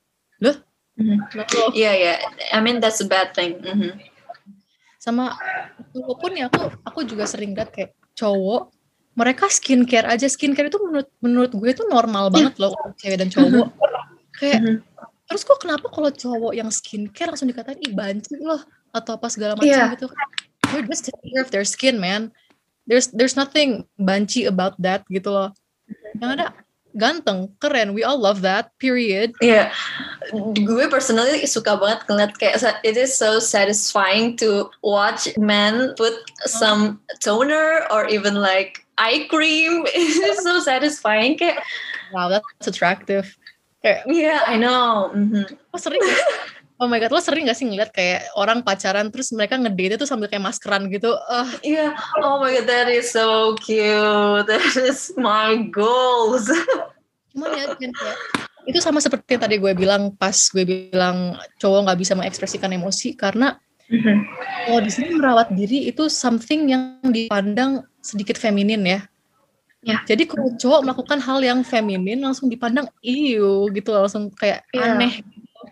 Iya, I mean that's a bad thing. Sama walaupun ya aku juga sering lihat kayak cowok mereka skincare aja. Skincare itu menurut gue itu normal banget loh cewek dan cowok. Kayak terus kok kenapa kalau cowok yang skincare langsung dikatain banci loh atau apa segala macam gitu. They're just taking care of their skin, man. There's nothing banci about that gitu loh. Yang ada ganteng, keren, we all love that, period. Iya, gue personally suka banget ngeliat kayak it is so satisfying to watch men put some toner or even like eye cream. It is so satisfying, kayak wow, that's attractive. Yeah, I know. Lo sering gak? Oh my god, lo sering gak sih ngeliat kayak orang pacaran terus mereka ngedate tuh sambil kayak maskeran gitu? Iya, oh my god, that is so cute. That is my goals. Cuman ya kayak itu sama seperti yang tadi gue bilang pas gue bilang cowok nggak bisa mengekspresikan emosi karena kalau di sini merawat diri itu something yang dipandang sedikit feminin ya. Jadi kalau cowok melakukan hal yang feminin langsung dipandang iu gitu, langsung kayak aneh.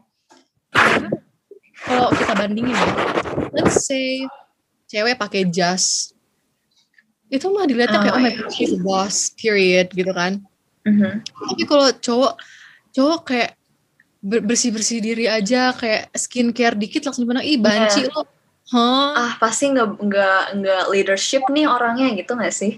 Kalau kita bandingin ya, let's say cewek pakai jas, itu mah dilihatnya kayak oh my god, she's a boss, period gitu kan. Tapi kalau cowok kayak bersih diri aja, kayak skincare dikit langsung dipandang banci lo. Pasti nggak leadership nih orangnya gitu nggak sih?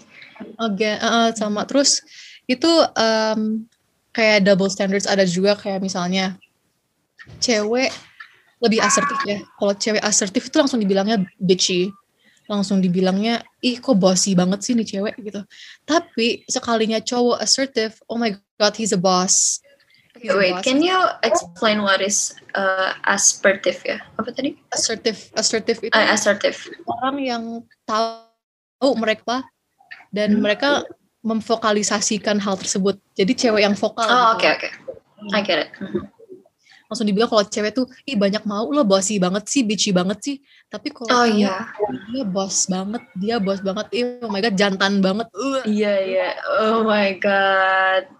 Sama terus itu kayak double standards ada juga, kayak misalnya cewek lebih asertif ya. Kalau cewek asertif itu langsung dibilangnya bitchy, langsung dibilangnya kok bossy banget sih nih cewek gitu. Tapi sekalinya cowok assertive, oh my god, he's a boss. Wait, can you explain what is assertive ya? Apa tadi? Assertive itu assertive. Orang yang tahu mereka dan mereka memvokalisasikan hal tersebut. Jadi cewek yang vokal. Oke. I get it. Langsung dibilang kalau cewek tuh banyak mau lo, bossy banget sih, bitchy banget sih. Tapi kalau dia boss banget, oh my god, jantan banget. Iya, oh my god,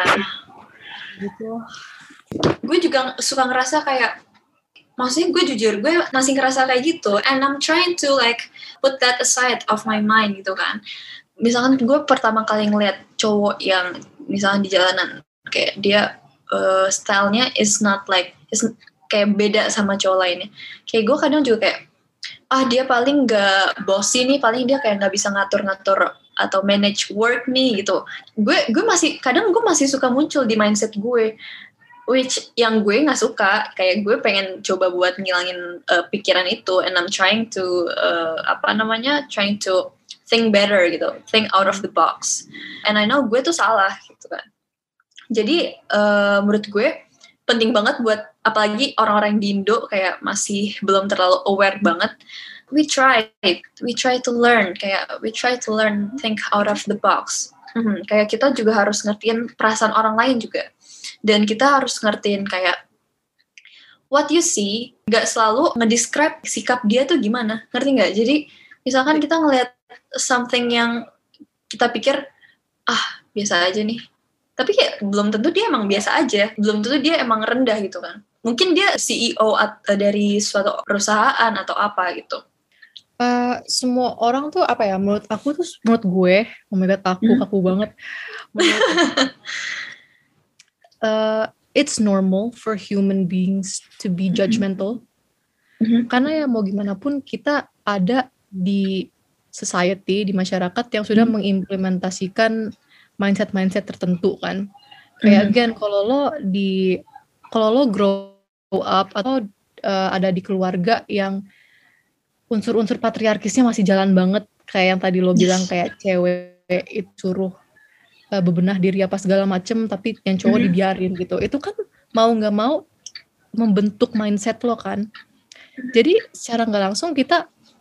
gitu. Gue juga suka ngerasa kayak, maksudnya gue masih ngerasa kayak gitu, and I'm trying to like put that aside of my mind gitu kan. Misalkan gue pertama kali ngeliat cowok yang misalkan di jalanan kayak dia stylenya is kayak beda sama cowok lainnya. Kayak gue kadang juga kayak, dia paling gak bossy nih, paling dia kayak gak bisa ngatur-ngatur atau manage work nih gitu. Gue masih suka muncul di mindset gue, which yang gue gak suka. Kayak gue pengen coba buat ngilangin pikiran itu, and I'm trying to trying to think better gitu, think out of the box. And I know gue tuh salah gitu kan. Jadi menurut gue penting banget buat apalagi orang-orang di Indo kayak masih belum terlalu aware banget. We try to learn, think out of the box. Kayak kita juga harus ngertiin perasaan orang lain juga, dan kita harus ngertiin kayak what you see, nggak selalu ngedescribe sikap dia tuh gimana, ngerti nggak? Jadi misalkan kita ngelihat something yang kita pikir biasa aja nih, tapi kayak belum tentu dia emang biasa aja, belum tentu dia emang rendah gitu kan. Mungkin dia CEO dari suatu perusahaan atau apa gitu. Semua orang tuh apa ya, menurut gue, oh my god, kaku banget. It's normal for human beings to be judgmental. Karena ya mau gimana pun kita ada di society, di masyarakat yang sudah mengimplementasikan mindset tertentu kan. Kayak again, kalau lo grow up atau ada di keluarga yang unsur-unsur patriarkisnya masih jalan banget, kayak yang tadi lo bilang kayak cewek itu suruh bebenah diri apa segala macem, tapi yang cowok dibiarin gitu. Itu kan mau nggak mau membentuk mindset lo kan. Jadi secara nggak langsung kita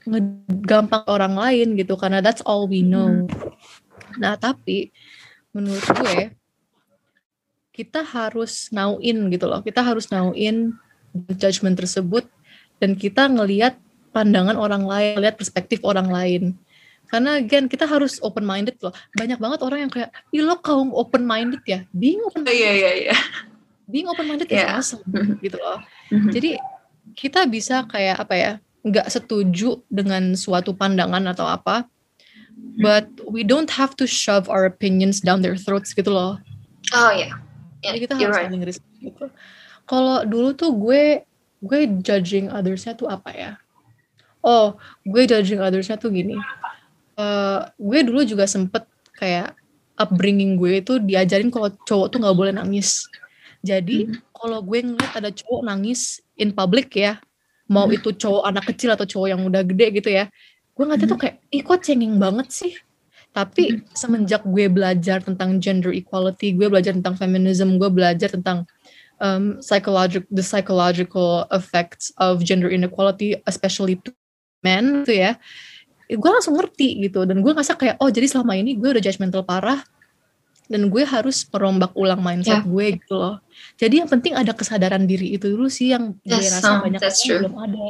ngegampang orang lain gitu karena that's all we know. Nah, tapi menurut gue kita harus nauin gitu loh. Kita harus nauin judgment tersebut dan kita ngelihat pandangan orang lain, lihat perspektif orang lain. Karena again kita harus open minded loh. Banyak banget orang yang kayak, "Ih, lo kaum open minded ya?" Being open minded. Iya. Being open minded is awesome gitu loh. Jadi kita bisa kayak apa ya? Nggak setuju dengan suatu pandangan atau apa, but we don't have to shove our opinions down their throats gitu loh. Oh iya. Jadi kita harus saling respect gitu. Kalau dulu tuh gue judging others-nya tuh apa ya? Oh, gue judging others-nya tuh gini. Gue dulu juga sempet kayak upbringing gue itu diajarin kalau cowok tuh nggak boleh nangis. Jadi kalau gue ngeliat ada cowok nangis in public ya, mau itu cowok anak kecil atau cowok yang udah gede gitu ya, gue ngeliatnya tuh kayak, ih kok cengeng banget sih. Tapi semenjak gue belajar tentang gender equality, gue belajar tentang feminism, gue belajar tentang the psychological effects of gender inequality, especially to men gitu ya, gue langsung ngerti gitu. Dan gue ngerasa kayak, oh jadi selama ini gue udah judgmental parah, dan gue harus merombak ulang mindset gue gitu loh. Jadi yang penting ada kesadaran diri itu dulu sih yang gue rasa banyak orang belum ada.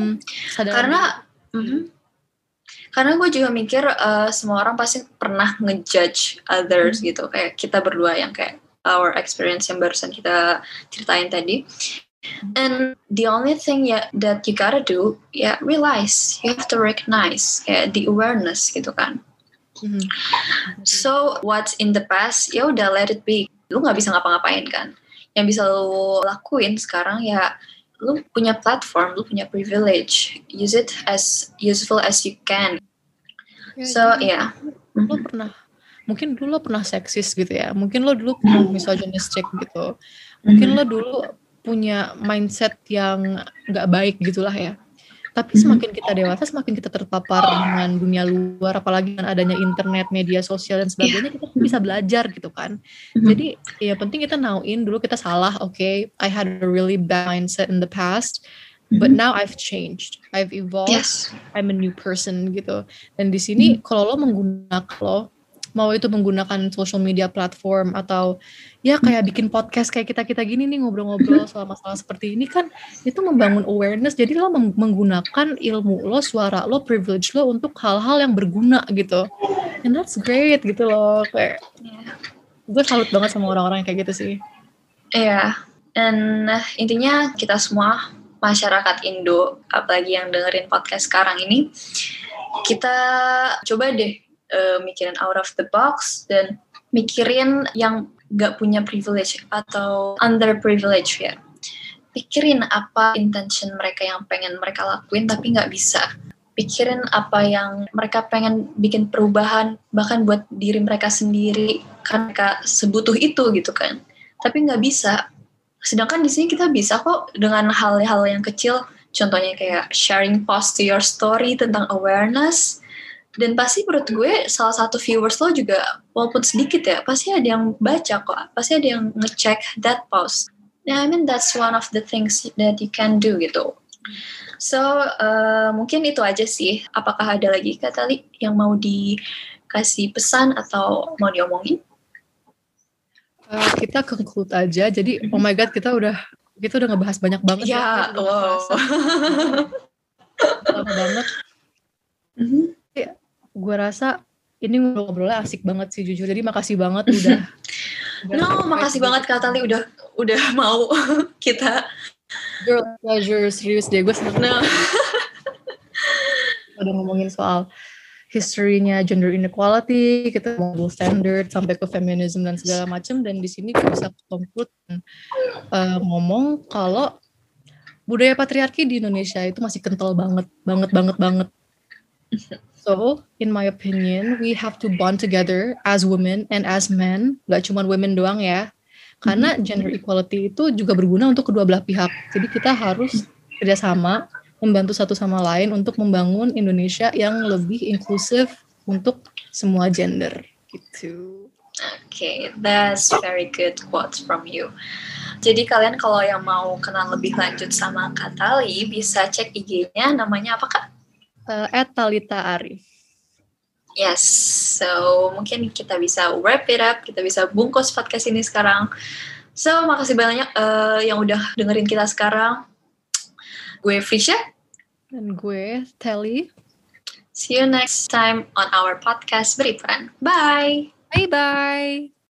Karena gue juga mikir semua orang pasti pernah ngejudge others gitu. Kayak kita berdua yang kayak our experience yang barusan kita ceritain tadi. And the only thing that you gotta do, realize, you have to recognize, kayak the awareness gitu kan. So what's in the past, ya udah let it be. Lu nggak bisa ngapa-ngapain kan. Yang bisa lu lakuin sekarang ya, lu punya platform, lu punya privilege. Use it as useful as you can. So Lo pernah, mungkin dulu lo pernah seksis gitu ya. Mungkin lo dulu pernah misogynistic gitu. Mungkin lo dulu punya mindset yang nggak baik gitulah ya. Tapi semakin kita dewasa, semakin kita terpapar dengan dunia luar, apalagi dengan adanya internet, media sosial dan sebagainya, kita bisa belajar gitu kan. Jadi ya penting kita nauin dulu kita salah, okay, I had a really bad mindset in the past, but now I've changed, I've evolved, I'm a new person gitu. Dan di sini kalau lo mau itu menggunakan social media platform atau ya kayak bikin podcast kayak kita gini nih, ngobrol-ngobrol soal masalah seperti ini kan, itu membangun awareness. Jadi lo menggunakan ilmu lo, suara lo, privilege lo untuk hal-hal yang berguna gitu, and that's great gitu loh. Kayak gue salut banget sama orang-orang yang kayak gitu sih. And intinya kita semua masyarakat Indo, apalagi yang dengerin podcast sekarang ini, kita coba deh mikirin out of the box dan mikirin yang gak punya privilege atau underprivilege ya. Pikirin apa intention mereka yang pengen mereka lakuin tapi gak bisa. Pikirin apa yang mereka pengen bikin perubahan bahkan buat diri mereka sendiri karena mereka sebutuh itu gitu kan. Tapi gak bisa. Sedangkan di sini kita bisa kok dengan hal-hal yang kecil. Contohnya kayak sharing post to your story tentang awareness. Dan pasti menurut gue salah satu viewers lo juga walaupun sedikit ya, pasti ada yang baca kok, pasti ada yang ngecek that post. I mean that's one of the things that you can do gitu. So mungkin itu aja sih. Apakah ada lagi Kak Tali yang mau dikasih pesan atau mau diomongin? Kita conclude aja. Jadi oh my god kita udah ngebahas banyak banget ya. Wow. Lama banget. Gue rasa ini ngobrolnya asik banget sih jujur. Jadi makasih banget udah. Makasih banget Kak Tali udah mau kita. Girl pleasure, serius deh gue seneng. Udah ngomongin soal history-nya gender inequality, kita mau double standard sampai ke feminism dan segala macam. Dan di sini kita bisa conclude ngomong kalau budaya patriarki di Indonesia itu masih kental banget. So, in my opinion, we have to bond together as women and as men. Gak cuma women doang ya. Karena gender equality itu juga berguna untuk kedua belah pihak. Jadi kita harus kerjasama, membantu satu sama lain untuk membangun Indonesia yang lebih inklusif untuk semua gender. Gitu. Okay, that's very good quotes from you. Jadi kalian kalau yang mau kenal lebih lanjut sama Kak Tali, bisa cek IG-nya, namanya apa Kak? @Talita Arif. Yes, so mungkin kita bisa wrap it up, kita bisa bungkus podcast ini sekarang. So, makasih banyak yang udah dengerin kita sekarang. Gue Frisha. Dan gue Telly. See you next time on our podcast Beriperan. Bye! Bye-bye!